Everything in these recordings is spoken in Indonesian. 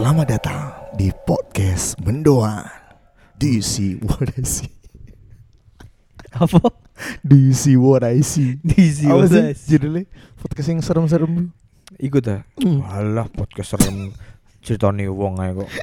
Selamat datang di podcast Mendoan. Do you see what I see? Apa? Do you see what I see? Diisi Apa sih wae. judulnya? Podcast yang serem-serem. Iku ta. Alah podcast serem ceritane wong ae kok.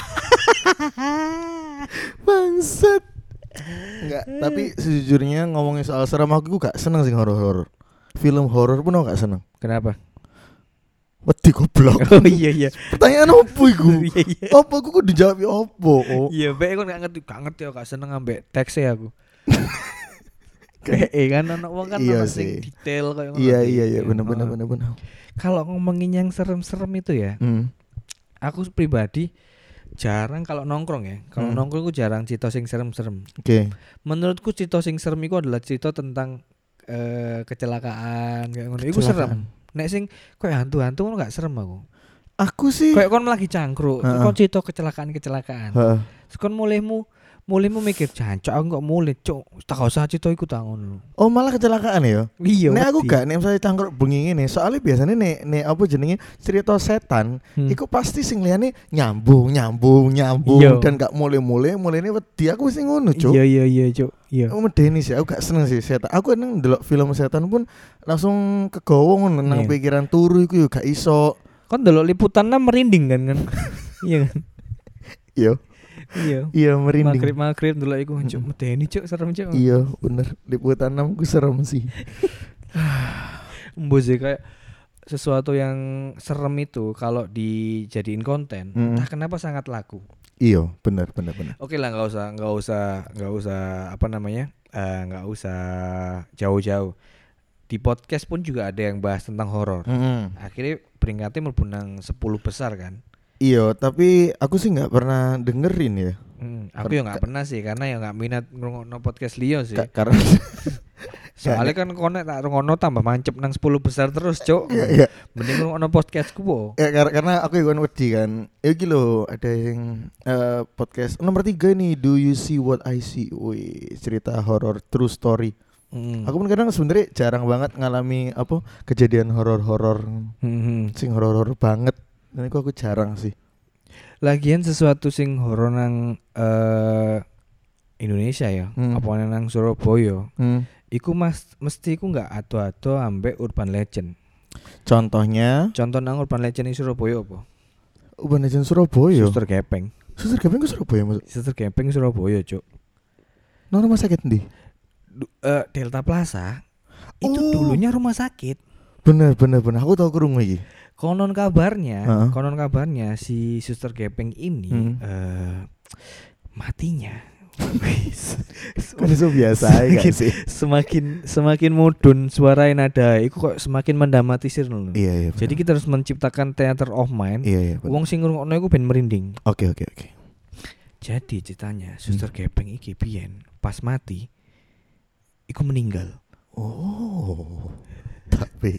Bangsat. Enggak, tapi sejujurnya ngomongin soal serem aku gak seneng sih horor-horor. Film horor pun aku gak seneng. Kenapa? Wedi goblok. Oh iya. Pertanyaan opo iku? Iya iya. Apa aku kudu jawab opo? Oh. Iya, mbek kok gak ngerti aku gak seneng ambek teks aku. Kayak kan ana wong kan Iya ana sing sih. detail kayak ngono. Iya bener. Kalau ngomongin yang serem-serem itu ya, aku pribadi jarang kalau nongkrong ya. Kalau nongkrong aku jarang cerita sing serem-serem. Oke. Menurutku cerita sing serem itu adalah cerita tentang kecelakaan kayak ngono. Iku serem. Nek sing koyo hantu-hantu ngono gak serem aku. Aku sih Kayak kon lagi cangkruk, Heeh. kon cerita kecelakaan. Heeh. Terus kon mulihmu mikir jancuk aku kok mulih, cuk. Tak usah cerita iku ta ngono. Oh malah kecelakaan ya? Iya. Nek aku wedi. gak, nek misalnya cangkruk bengi ngene, soalnya biasanya nek apa jenenge cerita setan, iku pasti sing liyane nyambung Iya. dan gak mulai-mulai wedi aku wis ngono, Cuk. Iya, cuk. Iya. Aku medeni sih, aku gak seneng sih setan. Aku nang ndelok film setan pun langsung kegowo ngono nang Iya. pikiran turu iku yo gak iso. Kon delok liputannya merinding kan. Iya kan? Iya, Iya. iya merinding. Magrib delok iku cuk medeni cuk serem cuk. Iya, bener. Liputan 6 ku serem sih. Mbok sih kayak sesuatu yang serem itu kalau dijadiin konten, entah kenapa sangat laku. Iya, bener. Oke lah, nggak usah apa namanya, nggak usah jauh-jauh. Di podcast pun juga ada yang bahas tentang horor. Akhirnya peringkatnya mlebu nang 10 besar kan. Iya, tapi aku sih nggak pernah dengerin ya. Aku ya nggak pernah sih, karena ya nggak minat ngrungokno podcast liya sih. Karena Soalnya kan konek tak ngrungokno tambah mancep nang 10 besar terus, Cuk. Iya. Mending ngrungokno podcastku po. Ya, karena aku juga wedi kan. Ya gitu ada yang podcast nomor 3 nih, Do You See What I See? Wih, cerita horor true story. Aku pun kadang sebenarnya jarang banget ngalami apa kejadian horor-horor sing horor banget. Dan itu aku jarang sih. Lagian sesuatu sing horor nang Indonesia ya, apa nang Surabaya. Iku mesti iku enggak ado-ado ambek urban legend. Contohnya Contoh nang urban legend di Surabaya apa? Urban Legend Surabaya. Suster Gepeng. Suster Gepeng ke Surabaya maksud. Suster Gepeng Surabaya, Cuk. Nang rumah sakit ndi? Delta Plaza itu Oh. dulunya rumah sakit. Bener. Aku tahu krungu iki. Konon kabarnya Heeh. si Suster Gepeng ini matinya. Kan itu biasa ya kan sih. semakin mudun suara nada iku kok semakin mendramatisir lho. Iya. Jadi kita harus menciptakan theater of mind. Iya. Wong sing ngrungokno iku ben merinding. Oke. Jadi ceritanya Suster Gepeng iki biyen pas mati iku meninggal. Oh. Tapi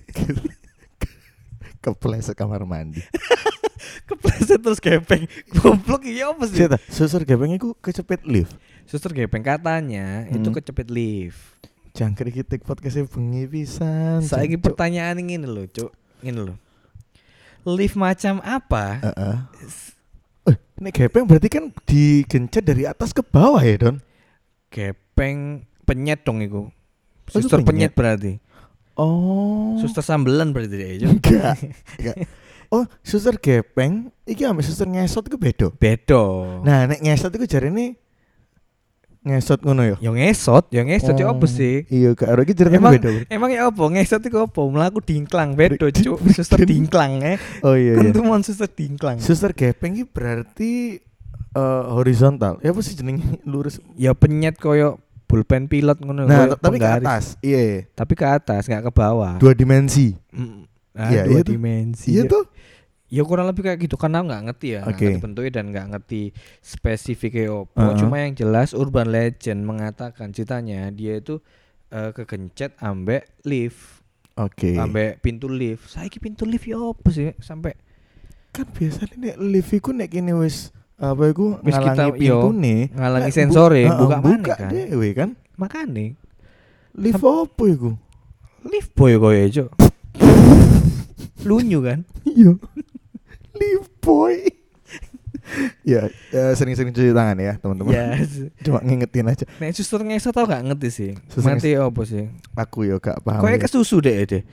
kepleset kamar mandi. Kepleset terus Gepeng. Goblok iki apa sih? Cerita, suster Gepeng iku kecepet lift. Suster Gepeng katanya itu kecepet lift. Jangkrik kita podcastnya bengi pisan. Saiki Cuk. pertanyaan ngene lho, Cuk. Ngene lho. Lift macam apa? Heeh. Nek Gepeng berarti kan digencet dari atas ke bawah ya, Don? Gepeng penyet dong iku. Oh, itu Suster penyet? penyet berarti. Oh. Suster sambelan berarti dia, Cuk. Enggak. Oh, suster Gepeng iki ambek suster ngesot iku beda. Beda. Nah, nek ngesot iku jarene ngesot ngono ya. Yang ngesot ya apa sih? Iya, karo iki jarene Emang- beda. Emang ya apa? Ngesot itu apa? Melaku dingklang beda, Cuk. Suster dingklang Oh iya. Kan tuh mon suster dingklang. Suster Gepeng iki berarti horizontal. Ya apa sih jenenge lurus? Ya penyet koyo pulpen pilot ngono. Nah, koyo tapi ke penggaris. atas. Iya. Tapi ke atas, enggak ke bawah. 2 dimensi. Iya, Dua iya tuh. dimensi. Iya tuh. Ya kurang lebih kayak gitu karena nggak ngerti ya, nggak Oke. ngerti bentuknya dan nggak ngerti spesifiknya apa. Heeh. Cuma yang jelas urban legend mengatakan ceritanya dia itu kegencet ambek lift, Oke. ambek pintu lift. Saiki pintu lift ya apa sih sampai Kan biasanya nek lift iku nek kene wis apa iku Wis ngalangi kita- yo, pintune, ngalangi nek sensore, buka maneh buka kan. dhewe kan. makane Lift apa iku? lift boy koyo Cuk. Lunyu kan? Iya. Lift boy. Ya, sering-sering cuci tangan ya teman-teman. Yes. Cuma ngingetin aja. Nek suster ngesot tau gak ngerti sih. Suster Mati apa sih? Aku ya gak paham. Kayak ya. kesusu deh.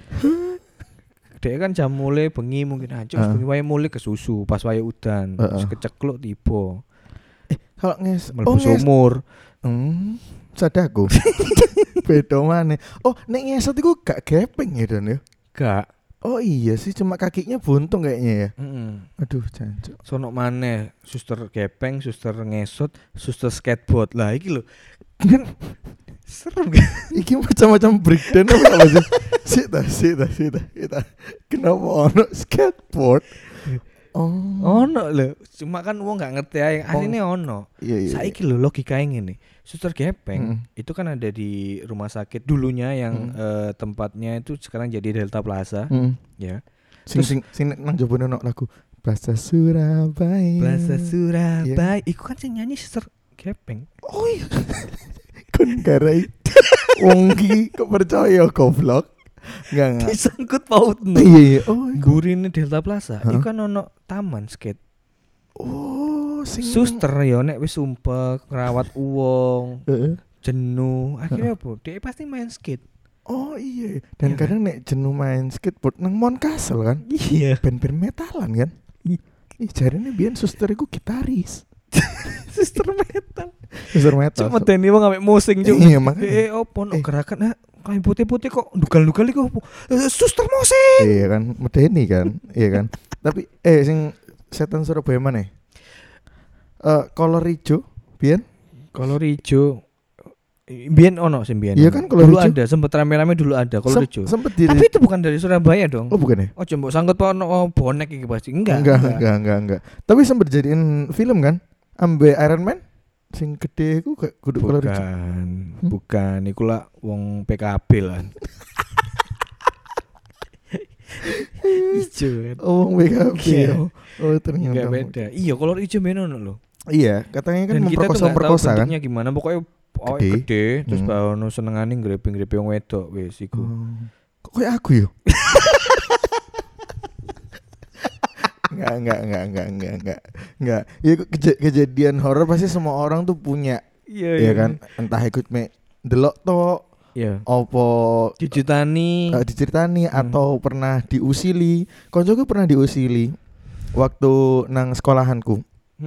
Dek kan jam mulai bengi mungkin aja bengi wae mulai kesusu pas wae udan terus kecekluk tiba. Kalau mlebu sumur. Sadaku. Beda maneh. Oh, nek ngesot iku gak gepeng ya Don ya? Gak. Oh iya sih, cuma kakinya buntung kayaknya ya. Aduh, jancuk. Sono maneh suster gepeng, suster ngesot, suster skateboard. Lah iki lho. Kan serem kan? Iki macam-macam breakdown apa sih? Sita. Kenapa ono skateboard? Ono lho. Cuma kan wong gak ngerti ae. Asline ono. Iya. Saiki lho logikae ngene. Suster gepeng itu kan ada di rumah sakit dulunya yang tempatnya itu sekarang jadi Delta Plaza. Ya. Sing nang jebone ono lagu Plaza Surabaya. Yeah. Iku kan sing nyanyi suster gepeng. Oh iya. Kon garai. Wong iki kok percaya goblok. Enggak. Disangkut pautno. Iya. Oh, gurine Delta Plaza. Iku kan ono taman skate. Oh, suster ya nek wis sumpek ngrawat wong. Jenuh. Akhirnya apa? Dia pasti main skate. Oh iya. Dan kadang nek jenuh main skateboard nang Mount Castle kan. Iya. Band-band metalan kan. Ih, jarine biyen suster iku gitaris. Suster metal. Cuma teni wong ambek musing cuk. Iya, makanya. Opo no gerakan kain putih-putih kok dugal-dugal iku opo? Suster musing. Iya kan, medeni kan. Iya kan. Tapi sing setan Surabaya mana? Kolor ijo, biyen? Kolor ijo. Biyen ono sing biyen. Iya kan kolor dulu ijo. Ada, sempet rame-rame dulu ada kolor ijo. Tapi itu bukan dari Surabaya dong. Oh, bukan ya? Oh, coba sangkut ono bonek iki pasti. Enggak. Tapi sempet jadiin film kan? Ambe Iron Man sing gede iku kudu kolor ijo. Bukan, iku lah wong PKB lah. Ijo kan. Oh, wong PKB. Oh, ternyata. Enggak beda. Iya, kolor ijo menono lho. Iya, katanya kan memperkosa kan. Bentuknya gimana? Pokoknya gede. Terus bawono senengane grepe-grepe wong wedok wis iku. Kok kayak aku yo? Enggak. Ya kejadian horor pasti semua orang tuh punya. Iya kan? Entah ikut delok tok. Iya. Opo diceritani atau pernah diusili. Koncoku pernah diusili waktu nang sekolahanku.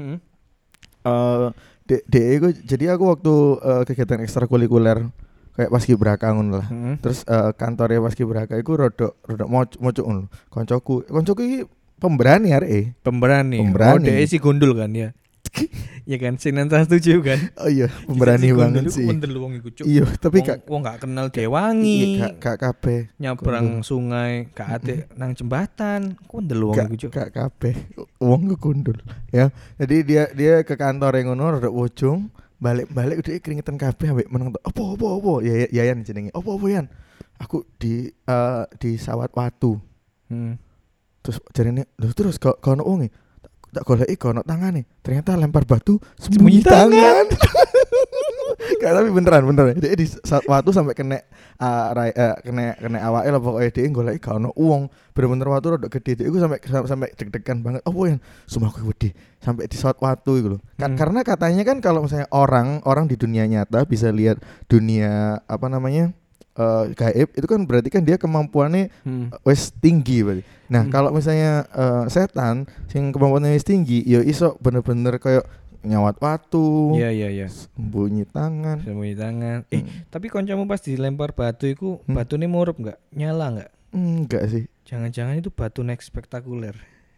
Jadi aku waktu kegiatan ekstrakurikuler kayak paskibraka ngono lah. Terus kantornya paskibraka iku rodok mocok ngono. Koncoku iki pemberani arek. Pemberani. Oh, dhek si gondol kan ya. Ya kan Sinan Trans 7 kan. Oh iya, pemberani banget sih. Gondol wong iku cuk. Iya, tapi wong gak kenal Dewangi. Gak kabeh. Nyabrang sungai, gak ate nang jembatan. Gondol wong iku cuk. Gak kabeh. Wong ku gondol. Ya. Jadi dia ke kantor yang ngono rodok wojong, balik udah keringetan kabeh ambek meneng opo. Ya Yayan jenenge. Opo Yan? Aku di Sawat Watu. Terus jarene lho terus kono wonge tak goleki kono tangane. Ternyata lempar batu sembunyi tangan. Gak tapi beneran. Dia di Watu sampai kena awake lah pokoke dia goleki gak ono wong. Bener-bener watu rodok gede. Iku sampai deg-degan banget. Oh Yan, sumpah aku wedi. Sampai di Watu iku lho. Karena katanya kan kalau misalnya orang di dunia nyata bisa lihat dunia apa namanya? Gaib itu kan berarti kan dia kemampuannya wis tinggi berarti. Nah, kalau misalnya setan sing kemampuannya wis tinggi, ya iso bener-bener kayak nyawat watu. Iya. Sembunyi tangan. Tapi kancamu pas dilempar batu iku batune murup enggak? Nyala enggak? Enggak sih. Jangan-jangan itu batu next spektakuler.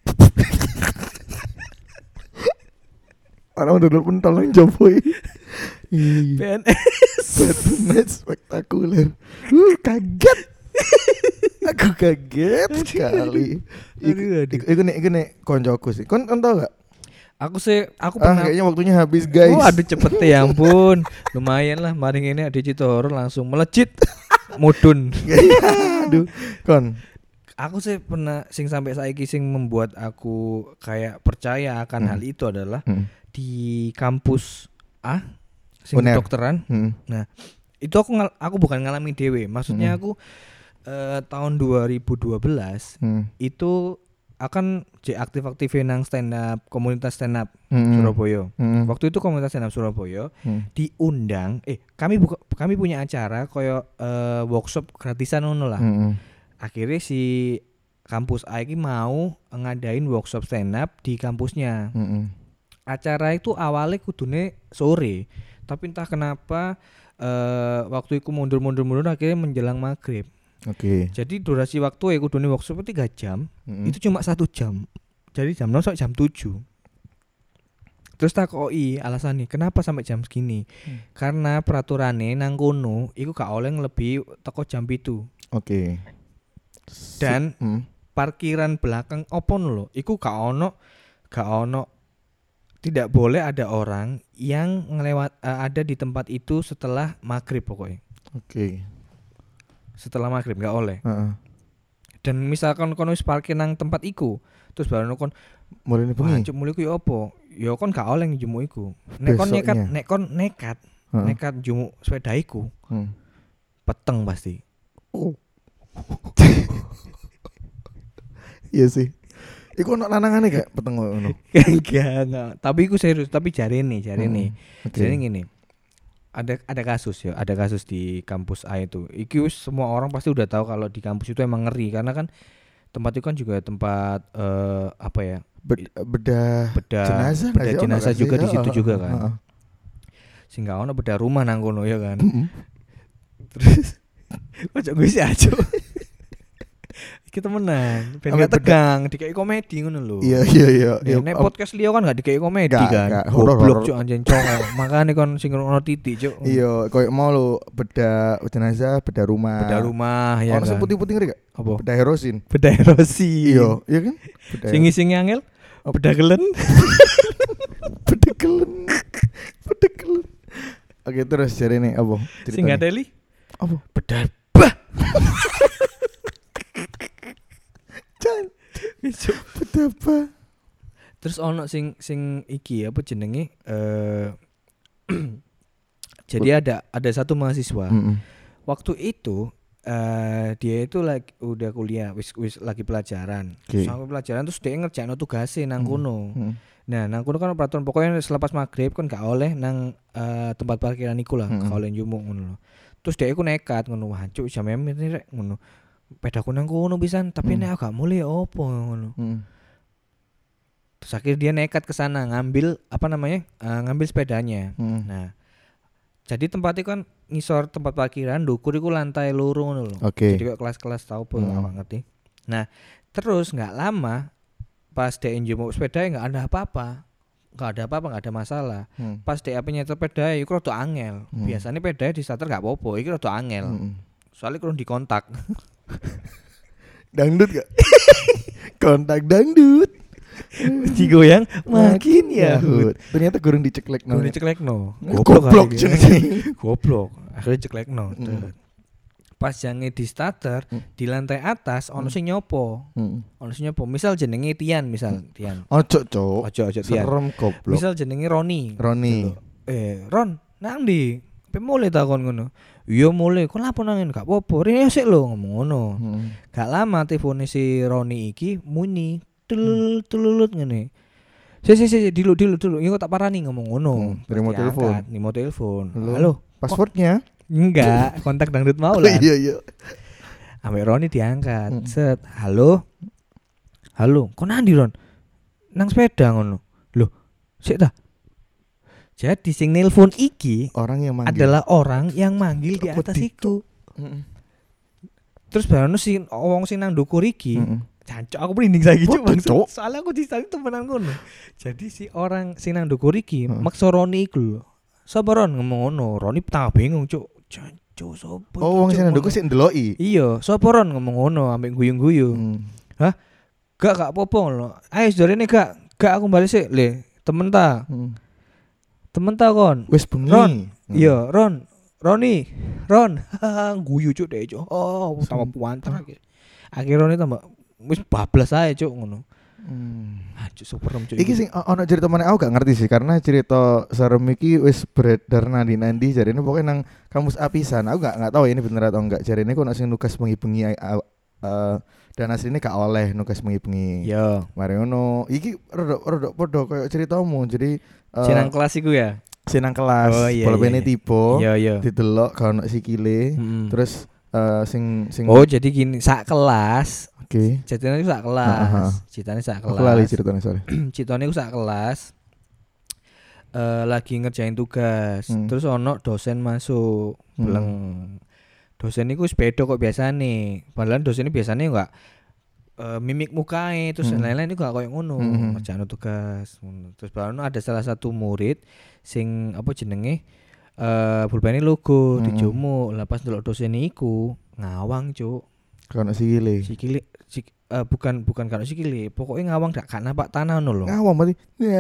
Orang udah pentol yang jopoi. PNS Batman spektakuler. Kaget. Aku kaget sekali. Iku nek koncoku sih. Kon tau gak? Aku pernah. Kayaknya waktunya habis guys. Aduh cepet ya ampun. Lumayan lah maring ini ada cerita horor langsung melejit. Mudun. Aduh, kon. Aku sih pernah sing sampai saiki sing membuat aku kayak percaya akan hal itu adalah di kampus sing kedokteran. Nah, itu aku bukan ngalami dewe. Maksudnya aku tahun 2012 itu akan aktif nang stand up komunitas stand up Surabaya. Waktu itu komunitas stand up Surabaya diundang kami punya acara koyo workshop gratisan ngono lah. Akhirnya si kampus A ini mau ngadain workshop stand up di kampusnya. Acara itu awalnya kudune sore, tapi entah kenapa waktu itu mundur akhirnya menjelang maghrib. Oke. Jadi durasi waktu kudune workshop 3 jam, itu cuma 1 jam. Jadi jam 0 sampai jam 7. Terus takoki alasannya kenapa sampai jam segini? Karena peraturannya nang kono iku gak oleh lebih teko jam 7. Oke. Dan parkiran belakang opon lho, iku gak ono tidak boleh ada orang yang ada di tempat itu setelah maghrib pokoknya. Oke. Setelah maghrib gak oleh. Dan misalkan kono wis parkir nang tempat iku, terus baru kon mulai bengi. Cuk mulai ku yo opo? Ya kon gak oleh njumuk iku. Nek kon nekat njumuk sepeda iku. Peteng pasti. Iya sih. Iku ono lanangane gak peteng ngono? Enggak. Tapi iku serius, tapi jarene. Jarene ngene. Ada kasus di kampus A itu. Iki semua orang pasti udah tahu kalau di kampus itu emang ngeri karena kan tempat itu kan juga tempat bedah jenazah juga di situ juga kan. Sehingga ono bedah rumah nang kono ya kan. Terus ojo gue sih aja. Kita menang, pengen tegang, dikai komedi ngono lho. Iya. Nek podcast liya kan gak dikai komedi kan. Goblok cuk anjen congok. Makane kon sing ono titik cuk. Iya, koyo mau lho beda jenazah, beda rumah. Beda rumah ya. Ono sing putih-putih ngeri gak? Apa? Beda herosin. Iya kan? Sing angel. Beda gelen. Beda gelen. Oke, terus jarene apa? Sing ngateli? Apa? Beda. Betapa. Terus ono sing iki apa jenenge jadi ada satu mahasiswa. Waktu itu dia itu udah kuliah wis lagi pelajaran. Sampai pelajaran terus dia ngerjain tugasnya nang kono. Nah, nang kono kan peraturan pokoknya selepas maghrib kan gak oleh nang tempat parkiran iku lah, gak oleh njumuk ngono. Terus dia iku nekat ngono, wah cuk jam ini rek ngono. Pedaku nang kono pisan, tapi nek gak mulai opo ngono. Terus akhirnya dia nekat ke sana ngambil ngambil sepedanya. Nah, jadi tempat itu kan ngisor tempat parkiran, ndukur iku lantai loro ngono lho. Jadi kayak kelas-kelas tau apa gak ngerti. Nah, terus enggak lama pas dia njumuk sepeda enggak ada apa-apa. Enggak ada masalah. Pas dia nyetel sepeda iku rada angel. Biasanya sepeda di starter enggak apa-apa, iki rada angel. Soalnya kurang dikontak. Dangdut gak? Kontak dangdut. Digoyang makin yahut. Ternyata kurang diceklekno. Goblok. Goblok. Akhirnya ceklekno. Pas jange di starter di lantai atas ono sing nyopo. Misal jenenge Tian. Ojo Tian. Serem goblok. Misal jenenge Roni. Ron, nang ndi? Pe mulai takon ngono. Iya mulai, kok lapo nangin gak apa-apa. Rene sik lho ngomong ngono. Gak lama telefone si Roni iki muni tululut ngene. Si dilu. Iku tak parani ngomong ngono. Terima telepon. Halo, passwordnya? Enggak, kontak dangdut mau lah. Iya. Ambek Roni diangkat. Set, halo, kok nandi Ron? Nang sepeda ngono. Loh, sik ta? Jadi sing nelpon iki adalah orang yang manggil di atas itu. Terus baru si wong sing nang ndukur iki, jancuk aku merinding saiki cuk. Soalnya aku disani temenan ngono. Jadi si orang sing nang ndukur iki maksa Roni iku lho. Sapa Ron ngomong ngono, Roni tambah bingung cuk. Jancuk sapa? Oh, wong sing nang ndukur sik ndeloki. Iya, sapa Ron ngomong ngono ambek guyu-guyu. Hah? Gak apa-apa ngono. Ayo jarene gak aku balik sik le, temen ta. Temen ta kon. Wis bengi. Ron. Iya, Roni. Guyu cuk deh cuk. Oh, tambah puanter akhir. Akhir Roni tambah wis bablas ae cuk ngono. Cuk superem cuk. Iki sing ono cerita meneh aku gak ngerti sih karena cerita serem iki wis beredar nandi jarene pokoknya nang kampus apisan. Aku gak tahu ini bener atau enggak. Jarene kok ono sing nugas bengi-bengi dan asline gak oleh nugas bengi-bengi. Yo. Mari ngono. Iki rada padha koyo ceritamu. Jadi Sinang kelas iku ya. Sinang kelas, Oh, iya, bolpene iya. tiba, Iya. didelok gak ono sikile. Terus sing Oh, jadi gini, sak kelas. Oke. Ceritanya itu sak kelas. Ceritanya sak kelas. Aku lali ceritanya sorry. Ceritanya itu sak kelas. Lagi ngerjain tugas. Terus ono dosen masuk. Bilang dosen iku wis beda kok biasane. Padahal dosen ini biasanya enggak mimik mukae terus lain-lain itu gak koyo ngono. Ngerjain tugas. Terus baru ada salah satu murid sing apa jenenge pulpene logo dijumuk. Lah pas ndelok dosen iku ngawang, Cuk. Kono sikile. Bukan karo sikile, pokoknya ngawang gak nampak tanah ngono lho. Ngawang berarti.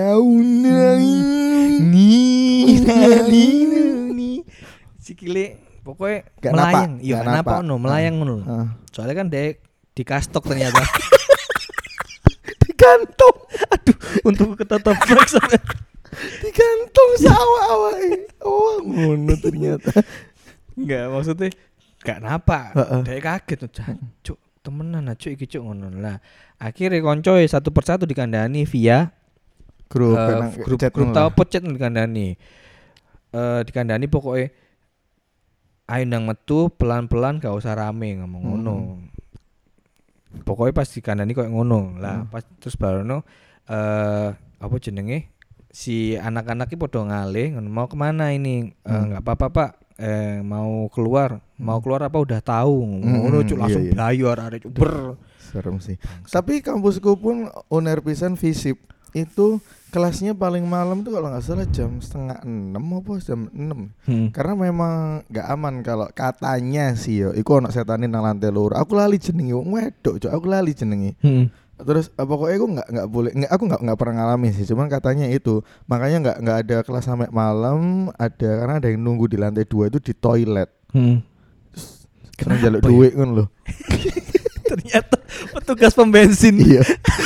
Nih. Sikile pokoknya melayang. Iya, napa ngono, melayang ngono. Soalnya kan dek di kastok ternyata. Di kantong. Aduh, untuk ketatap sampai di kantong sawah awake. Oh, ngono ternyata. Enggak, maksudnya gak napa. Dek kaget tuh, Cuk. Temenan aja iki cuk ngono. Lah, akhirnya koncoe satu persatu dikandani via grup tau pocet dikandani. Dikandani pokoknya ayo nang metu pelan-pelan gak usah rame ngomong ngono. Pokoknya pas dikandani koyo ngono. Lah, pas terus barono apa jenenge? Si anak-anak iki padha ngalih ngono, mau kemana ini? Enggak apa-apa, Pak. Mau keluar apa udah tahu ngono cuk langsung bayar arek ber serem sih. Tapi kampusku pun uner pisan FISIP itu kelasnya paling malam tuh kalau nggak salah jam 5:30 apa jam 6 karena memang nggak aman kalau katanya sih yo iku ono setane nang lantai loro aku lali jenenge wong wedok cuk aku lali jenenge. Terus pokoknya aku nggak boleh aku nggak pernah ngalamin sih cuman katanya itu makanya nggak ada kelas sampai malam ada karena ada yang nunggu di lantai 2 itu di toilet karena jaluk duit kan loh. Ternyata petugas pembensin. Iya.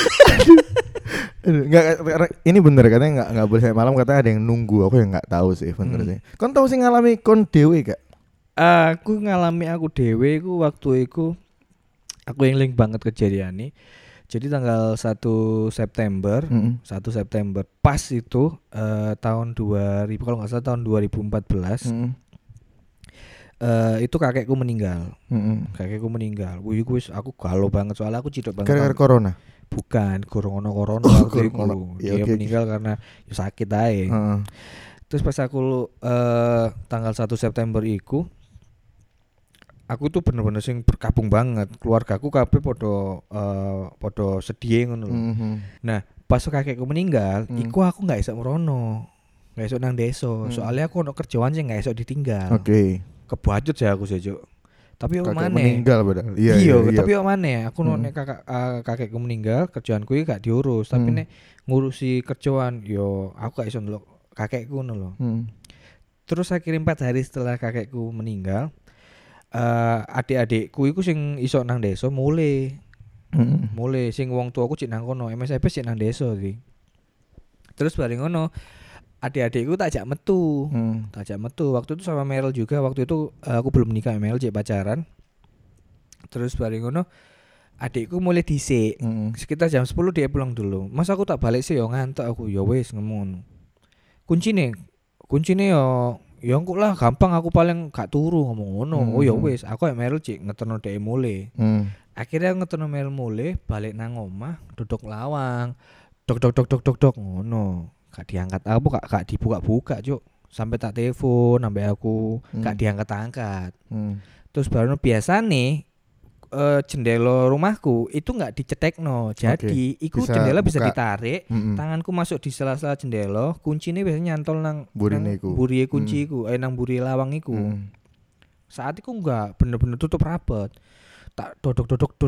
Nggak ini bener katanya nggak boleh sampai malam katanya ada yang nunggu aku yang nggak tahu sih bener sih. Kon tahu sih ngalami kon dewe gak? Aku ngalami aku dewe ku waktu iku aku eling banget kejadian nih. Jadi tanggal 1 September pas itu tahun 2000 kalau nggak salah tahun 2014 itu kakekku meninggal. Kakekku meninggal. Wih aku galau banget soalnya aku cidok banget. Gara-gara corona? Bukan, corona waktu itu. Dia meninggal karena sakit aja. Terus pas aku tanggal 1 September iku aku tuh bener-bener sing berkabung banget. Keluargaku kabeh podo sedih ngono lho. Nah, pas kakekku meninggal, iku aku enggak iso merono. Enggak iso nang desa. Soalnya aku ono kerjaan sing enggak iso ditinggal. Oke. Kebacut ya aku sih, Cuk. Tapi yo maneh. Meninggal padahal. Iya, tapi yo maneh. Aku nek kakekku meninggal, kerjaanku iki gak diurus, tapi nek ngurusi kerjaan yo aku gak iso ndelok kakekku ngono lho. Terus akhirnya 4 hari setelah kakekku meninggal, adik-adikku iku sing iso nang desa mulai sing wong tuaku cek nang kono MSP cek nang desa iki. Terus bareng ngono adik-adikku tak ajak metu. Waktu itu sama Meryl juga. Waktu itu aku belum nikah sama Meryl, cek pacaran. Terus bareng ngono adikku mulai dhisik. Sekitar jam 10 dia pulang dulu. Mas aku tak balik sih yo ngantuk aku. Ya wis ngomong. Kuncine yo engko lah gampang aku paling gak turu ngomong ngono. Oh ya wis, aku ya Meryl cik ngeterno dhek mulai. Akhirnya ngeterno Meryl mulai balik nang omah, duduk lawang. Dok ngono. Gak diangkat apa gak dibuka-buka, Cuk. Sampai tak telepon sampai aku gak diangkat-angkat. Terus baru biasane jendela rumahku itu nggak dicetekno. Jadi iku jendela bisa ditarik, tanganku masuk di sela-sela jendela, kuncinya biasanya nyantol nang buriye kunciku, nang buriye lawang iku. Saat itu enggak bener-bener tutup rapat. Tak dodok.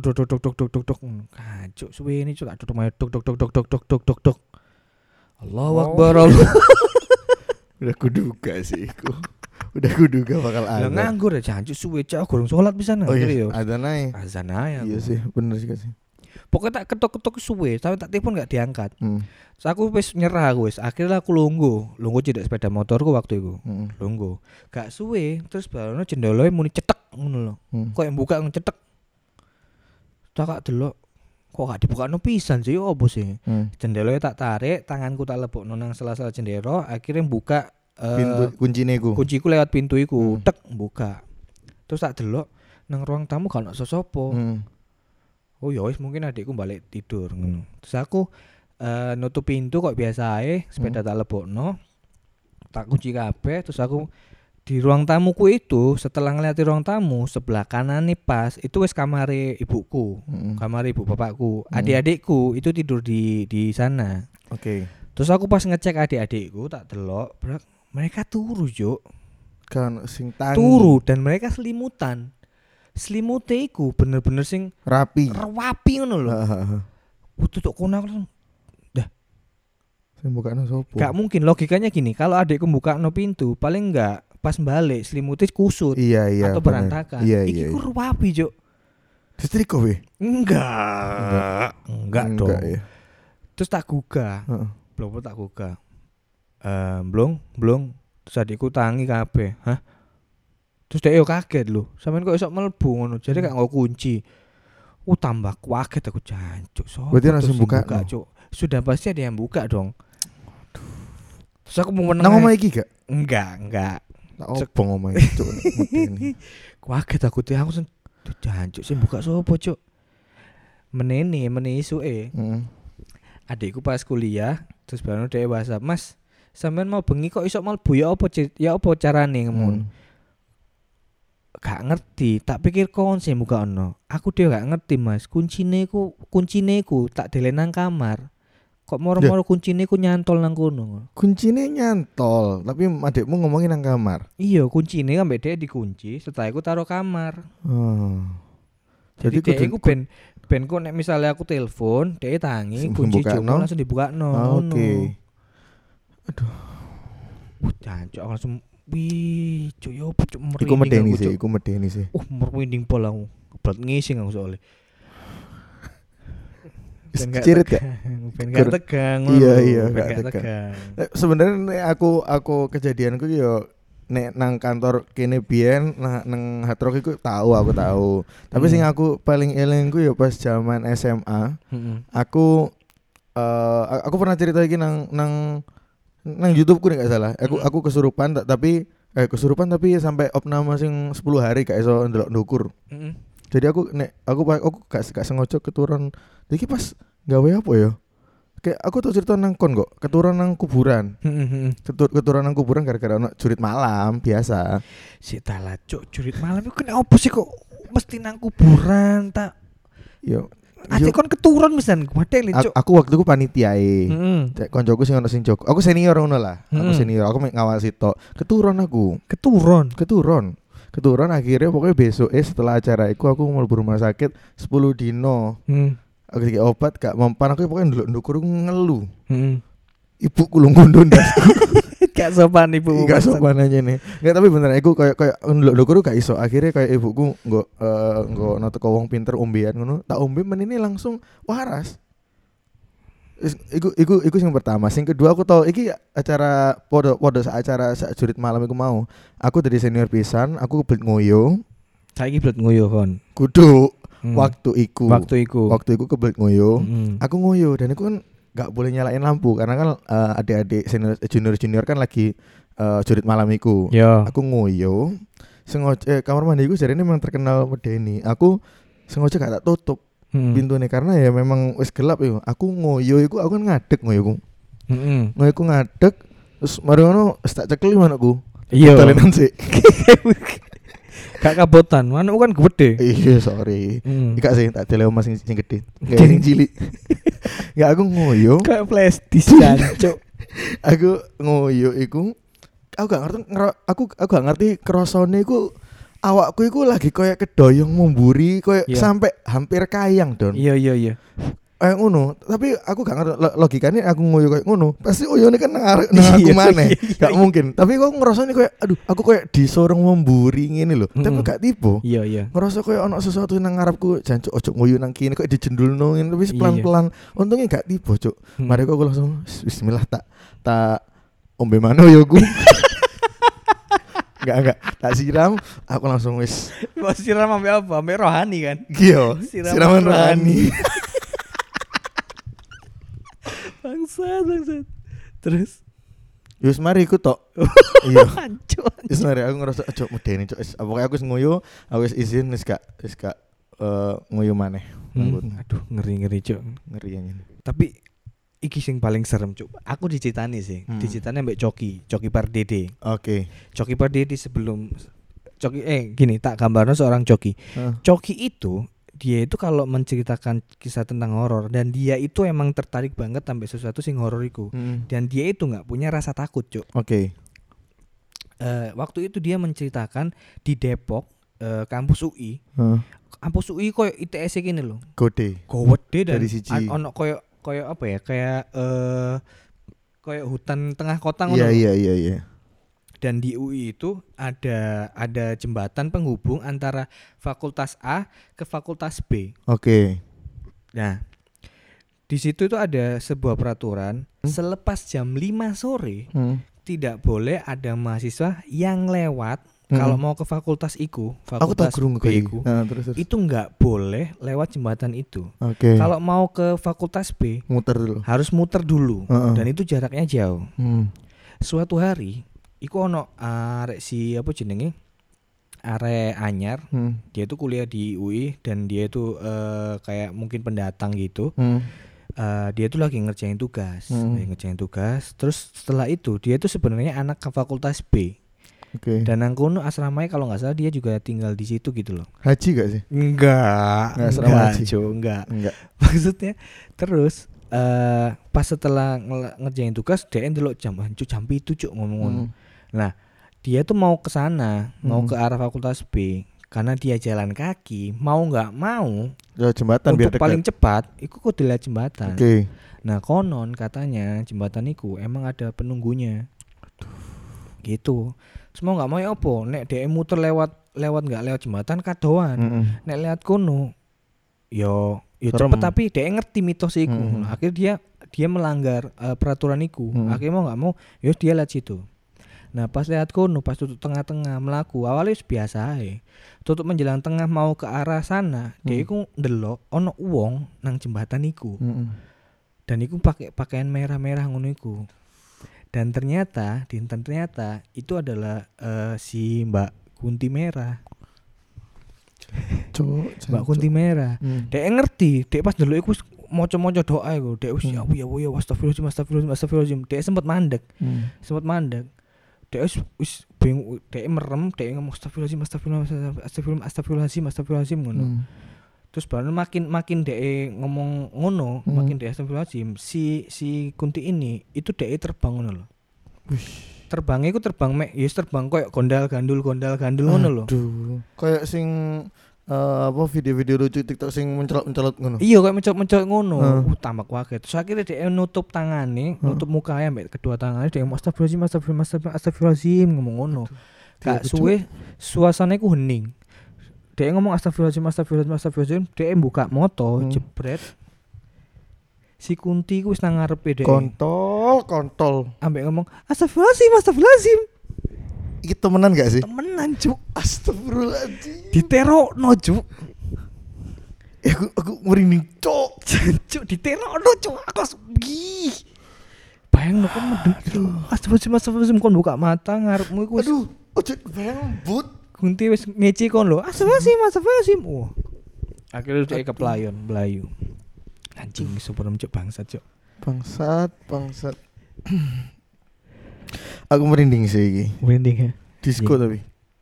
Kacuk suwe ini cuk tak tutup main dok. Allahu Akbar. Udah kuduga sih iku. Udah kuduga bakal ada. Lah nganggur ya jancuk suwe cak gurung salat pisan. Oh iya, azan ae. Iya sih, bener sih. Pokoknya tak ketok-ketok suwe, tapi tak telepon gak diangkat. Terus aku wis nyerah aku wis. Akhirnya aku lungguh cedek sepeda motorku waktu itu. Lungguh. Gak suwe, terus baru jendelae muni cetek ngono lho. Kok yang buka ngecetek. Tak delok kok gak dibukakno pisan sih opo sih. Jendelanya tak tarik, tanganku tak lebokno nang sela-sela jendela, akhirnya buka pintu kuncine iku. Kunciku lewat pintu iku, tek buka. Terus tak delok nang ruang tamu gak ono sapa. Oh ya wis mungkin adikku balik tidur ngono. Terus aku nutup pintu kok biasa ae, sepeda tak lebokno. Tak kunci kabeh, terus aku di ruang tamuku itu setelah ngeliat ruang tamu sebelah kanan nih pas itu wis kamare ibuku, kamar ibu bapakku, adik-adikku itu tidur di sana. Oke. Terus aku pas ngecek adik-adikku tak delok, mereka turu Juk. Kan sing tangi. Turu dan mereka selimutan. Selimute iku bener-bener sing rapi ngono lho. Tutuk kono dah. Sing bukakno sapa? Gak mungkin, logikanya gini, kalau adikku bukakno pintu paling enggak pas balik selimutnya kusut atau berantakan. Iki ku rapi Juk. Disetrika weh? Enggak dong. Ya. Terus tak gugah. Belum tak gugah. Blong. Terus adikku tangi kabeh. Hah? Terus dia kaget lho. Sampeyan kok iso mlebu ngono. Jadi gak nggo kunci. Tambah kaget aku jancuk. Berarti langsung buka Cuk. Sudah pasti ada yang buka dong. Terus aku mau meneng. Nang omah iki gak? Enggak. Tak obong omah iki Cuk. Kaget aku tuh aku jancuk sing buka sapa Cuk. Menene isuke. Adikku pas kuliah terus baru dia WhatsApp, "Mas, sampean mau bengi kok iso mlebu ya apa carane ngono?" Gak ngerti, tak pikir kon sing buka ono. Aku dhewe gak ngerti, Mas. Kuncine ku tak delen nang kamar. Kok moro-moro kuncine ku nyantol nang kono. Kuncine nyantol, tapi adikmu ngomongin nang kamar. Iya, kuncine kan mbek dhek dikunci, setelah iku taruh kamar. Jadi dhek iku ben kok nek misale aku telepon, dhek tangi kunci joko langsung dibukakno. Oke. Aduh. Jancuk langsung wih, cuk yo cuk merinding. Iku medeni sih. Merinding pol aku. Kebelet ngising aku soalnya. Cirit gak? Ben gak tegang. Iya, gak tegang. Sebenarnya aku kejadianku yo nek nang kantor kene biyen nang Hard Rock iku aku tahu. Tapi sing aku paling eling ku yo pas zaman SMA. Aku pernah cerita iki nang YouTube ku nek gak salah. Aku kesurupan tapi sampai opname sing 10 hari gak iso ndelok ndukur. Jadi aku gak sengaja keturun. Iki pas gawe apa ya? Kayak aku tuh cerita nang kon kok, keturun nang kuburan. Keturun nang kuburan gara-gara ono jurit malam biasa. Sik dalah cuk, jurit malam iku kena opo sih kok mesti nang kuburan ta? Yo Ate kon keturun misan gede cuk. Aku waktu itu panitiae. Koncoku sing ono sing jog. Aku senior ngono lah. Aku senior, aku ngawasi tok. Keturun aku. Keturun akhirnya pokoknya besok setelah acara iku aku mlebu rumah sakit 10 dino. Aku dikek obat gak mempan, aku pokoknya ndelok-ndukur ngeluh. Ibuku lungguh ndasku. Gak sopan ibu. Gak sopan aja nih. Enggak, tapi bener aku kayak ndelok-ndukur gak iso. Akhirnya kayak ibuku nggo nate wong pinter ombean ngono. Tak ombe menini langsung waras. Iku sing pertama. Sing kedua aku tau iki acara podo acara sak jurit malam iku mau. Aku dari senior pisan, aku kebelet ngoyo. Saiki kebelet ngoyo kon. Kudu waktu iku kebelet ngoyo. Aku ngoyo dan aku kan gak boleh nyalain lampu karena kan adik-adik junior kan lagi jurit malam iku. Aku ngoyo. Sengaja kamar mandi iku jarene memang terkenal medeni. Aku sengaja gak tak tutup pintunya karena ya memang wis gelap ya. Aku ngoyo iku aku kan ngadeg ngoyo. Ngoyo ku ngadeg terus mari ngono tak cekel manukku. Iya. Talenan sih. Gak kabotan, manuk kan gede. Iya, sorry. Enggak sih, tak deleo mas sing gede. Enggak sing cilik. Enggak, aku ngoyo. Kayak flash disk jancuk. Aku ngoyo iku aku gak ngerti krasane iku awakku iku lagi koyo kedoyong memburi koyo sampai hampir kayang, Don. Iya. Ngono, tapi aku gak ngerti logikane aku ngoyo koyo ngono. Pasti oyone kan nang aku maneh. Gak mungkin. Tapi kok ngrasane koyo aduh, aku koyo disorong memburi ngene lho. Tapi gak tiba. Iya. Ngerasa koyo ono sesuatu nang ngarepku, jancuk ojo ngoyo nang kene koyo dijendulno ngene wis pelan-pelan. Untungnya gak tiba, Cuk. Mari aku langsung bismillah tak ombe mano yo ku. Enggak. Tak siram, aku langsung wis. Mau siram sampai apa? Sampai rohani kan? Iya, siraman rohani. Bangsat. Terus Yus mari iku tok. Iya. hancur. Wis mari aku ngerasa aja medeni cok. Pokoke aku wis nguyu, aku wis izin wis gak nguyu maneh. Aduh, ngeri Cuk. Ngeri anjing. Tapi iki sing paling serem Cuk. Aku dicitani sih. Dicitani mbek Coki Pardede. Oke. Coki Pardede sebelum gini tak gambarnya seorang Coki. Coki itu dia itu kalau menceritakan kisah tentang horor dan dia itu emang tertarik banget sampai sesuatu sing horor iku. Dan dia itu enggak punya rasa takut, Cuk. Oke. Waktu itu dia menceritakan di Depok, kampus UI. Kampus UI koyo ITS gini loh. Gede Dan dari siji. Ono koyo apa ya? Kayak hutan tengah kota ngono. Iya. Dan di UI itu ada jembatan penghubung antara fakultas A ke fakultas B. Oke. Nah, di situ itu ada sebuah peraturan selepas jam 5 sore tidak boleh ada mahasiswa yang lewat kalau mau ke fakultas iku, fakultas B iku. Terus. Itu enggak boleh lewat jembatan itu. Oke. Kalau mau ke fakultas B harus muter dulu. Dan itu jaraknya jauh. Suatu hari iku ono arek si apa jenenge? Arek anyar. Dia itu kuliah di UI dan dia itu kayak mungkin pendatang gitu. Dia itu lagi ngerjain tugas. Terus setelah itu dia itu sebenarnya anak ke fakultas B. Oke. Dan nang kono asramanya kalau enggak salah dia juga tinggal di situ gitu loh. Haji gak sih? Enggak, Maksudnya terus pas setelah ngerjain tugas dia ndelok jam 7 Cuk ngomong. Nah, dia tuh mau ke sana, mau ke arah fakultas B karena dia jalan kaki, mau enggak mau ya jembatan biar dekat. Paling cepat iku kudu lihat jembatan. Oke. Nah, konon katanya jembatan iku emang ada penunggunya. Gitu. Semua enggak mau ya opo, nek dhek muter lewat enggak lewat jembatan kadoan. Nek lewat kono yo cepet tapi dhek ngerti mitos iku. Akhirnya dia melanggar peraturan iku. Akhirnya mau enggak mau yo dia lewat situ. Nah, pas lihat kono, pas tutup tengah-tengah melaku, awalnya biasa ae. Tutup menjelang tengah mau ke arah sana, dia iku ndelok ono wong nang jembatan iku. Dan iku pakai pakaian merah-merah ngono iku. Dan ternyata itu adalah si Mbak Kunti Merah. Mbak Kunti Merah. Dek ngerti, dek pas ndelok iku moco-moco doa iku, dek wis ya astagfirullahaladzim. Dek sempat mandek. Dek wis bingung, dek merem, dek ngomong astagfirullahaladzim ngono. Terus baru makin dek ngomong ngono, makin dek astagfirullahaladzim, si Kunti ini itu dek terbang ngono lho. Terbangnya iku terbang terbang koyo gondal-gandul ngono lho. Aduh, koyo sing video-video lucu TikTok sing mencolot ngono. Iya kayak mencolot ngono. Tambah kaget. Terus akhirnya dia nutup tangane, nutup mukanya ambek kedua tangannya dia astagfirullahaladzim ngomong ngono. Gak suwe suasananya ku hening. Dia ngomong astagfirullahaladzim, dia buka moto, jebret. Si Kunti ku wis nang ngarepe dhek. Kontol. Ambek ngomong astagfirullahaladzim. Iki temenan gak sih? Temenan, Cuk. Astagfirullahaladzim. Diterokno, Cuk. Aku merinding, Cuk. Cuk, diterokno, Cuk. Aku gih. Bayangno kon medun. Astagfirullahaladzim kon buka mata ngarepmu iku. Aduh, ojo bayang but. Kunti wis ngeci kon lho. Astagfirullahaladzim. Akhirnya dia keplayon, Melayu. Anjing super Cuk, bangsat, Cuk. Bangsat. Aku merinding sih iki. Merinding ya. Disco tapi.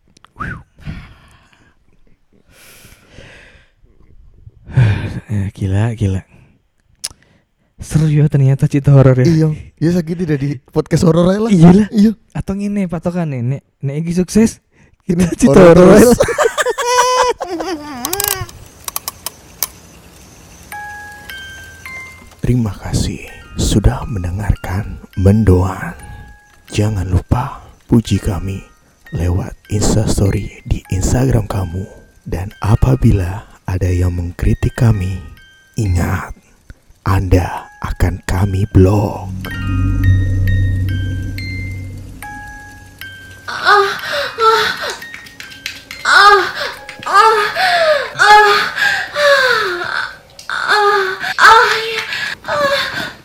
Gila. Seru ya ternyata cerita horor ya. Iya. Ya sakit tidak di podcast horor aja lah. Iya. Atau ngene patokane nek iki sukses kita cerita horor horor. Terima kasih sudah mendengarkan Mendoan. Jangan lupa puji kami lewat Instastory di Instagram kamu. Dan apabila ada yang mengkritik kami, ingat, Anda akan kami blok. Ah, ah, ah, ah, ah, ah, ah, ah, ya. Ah.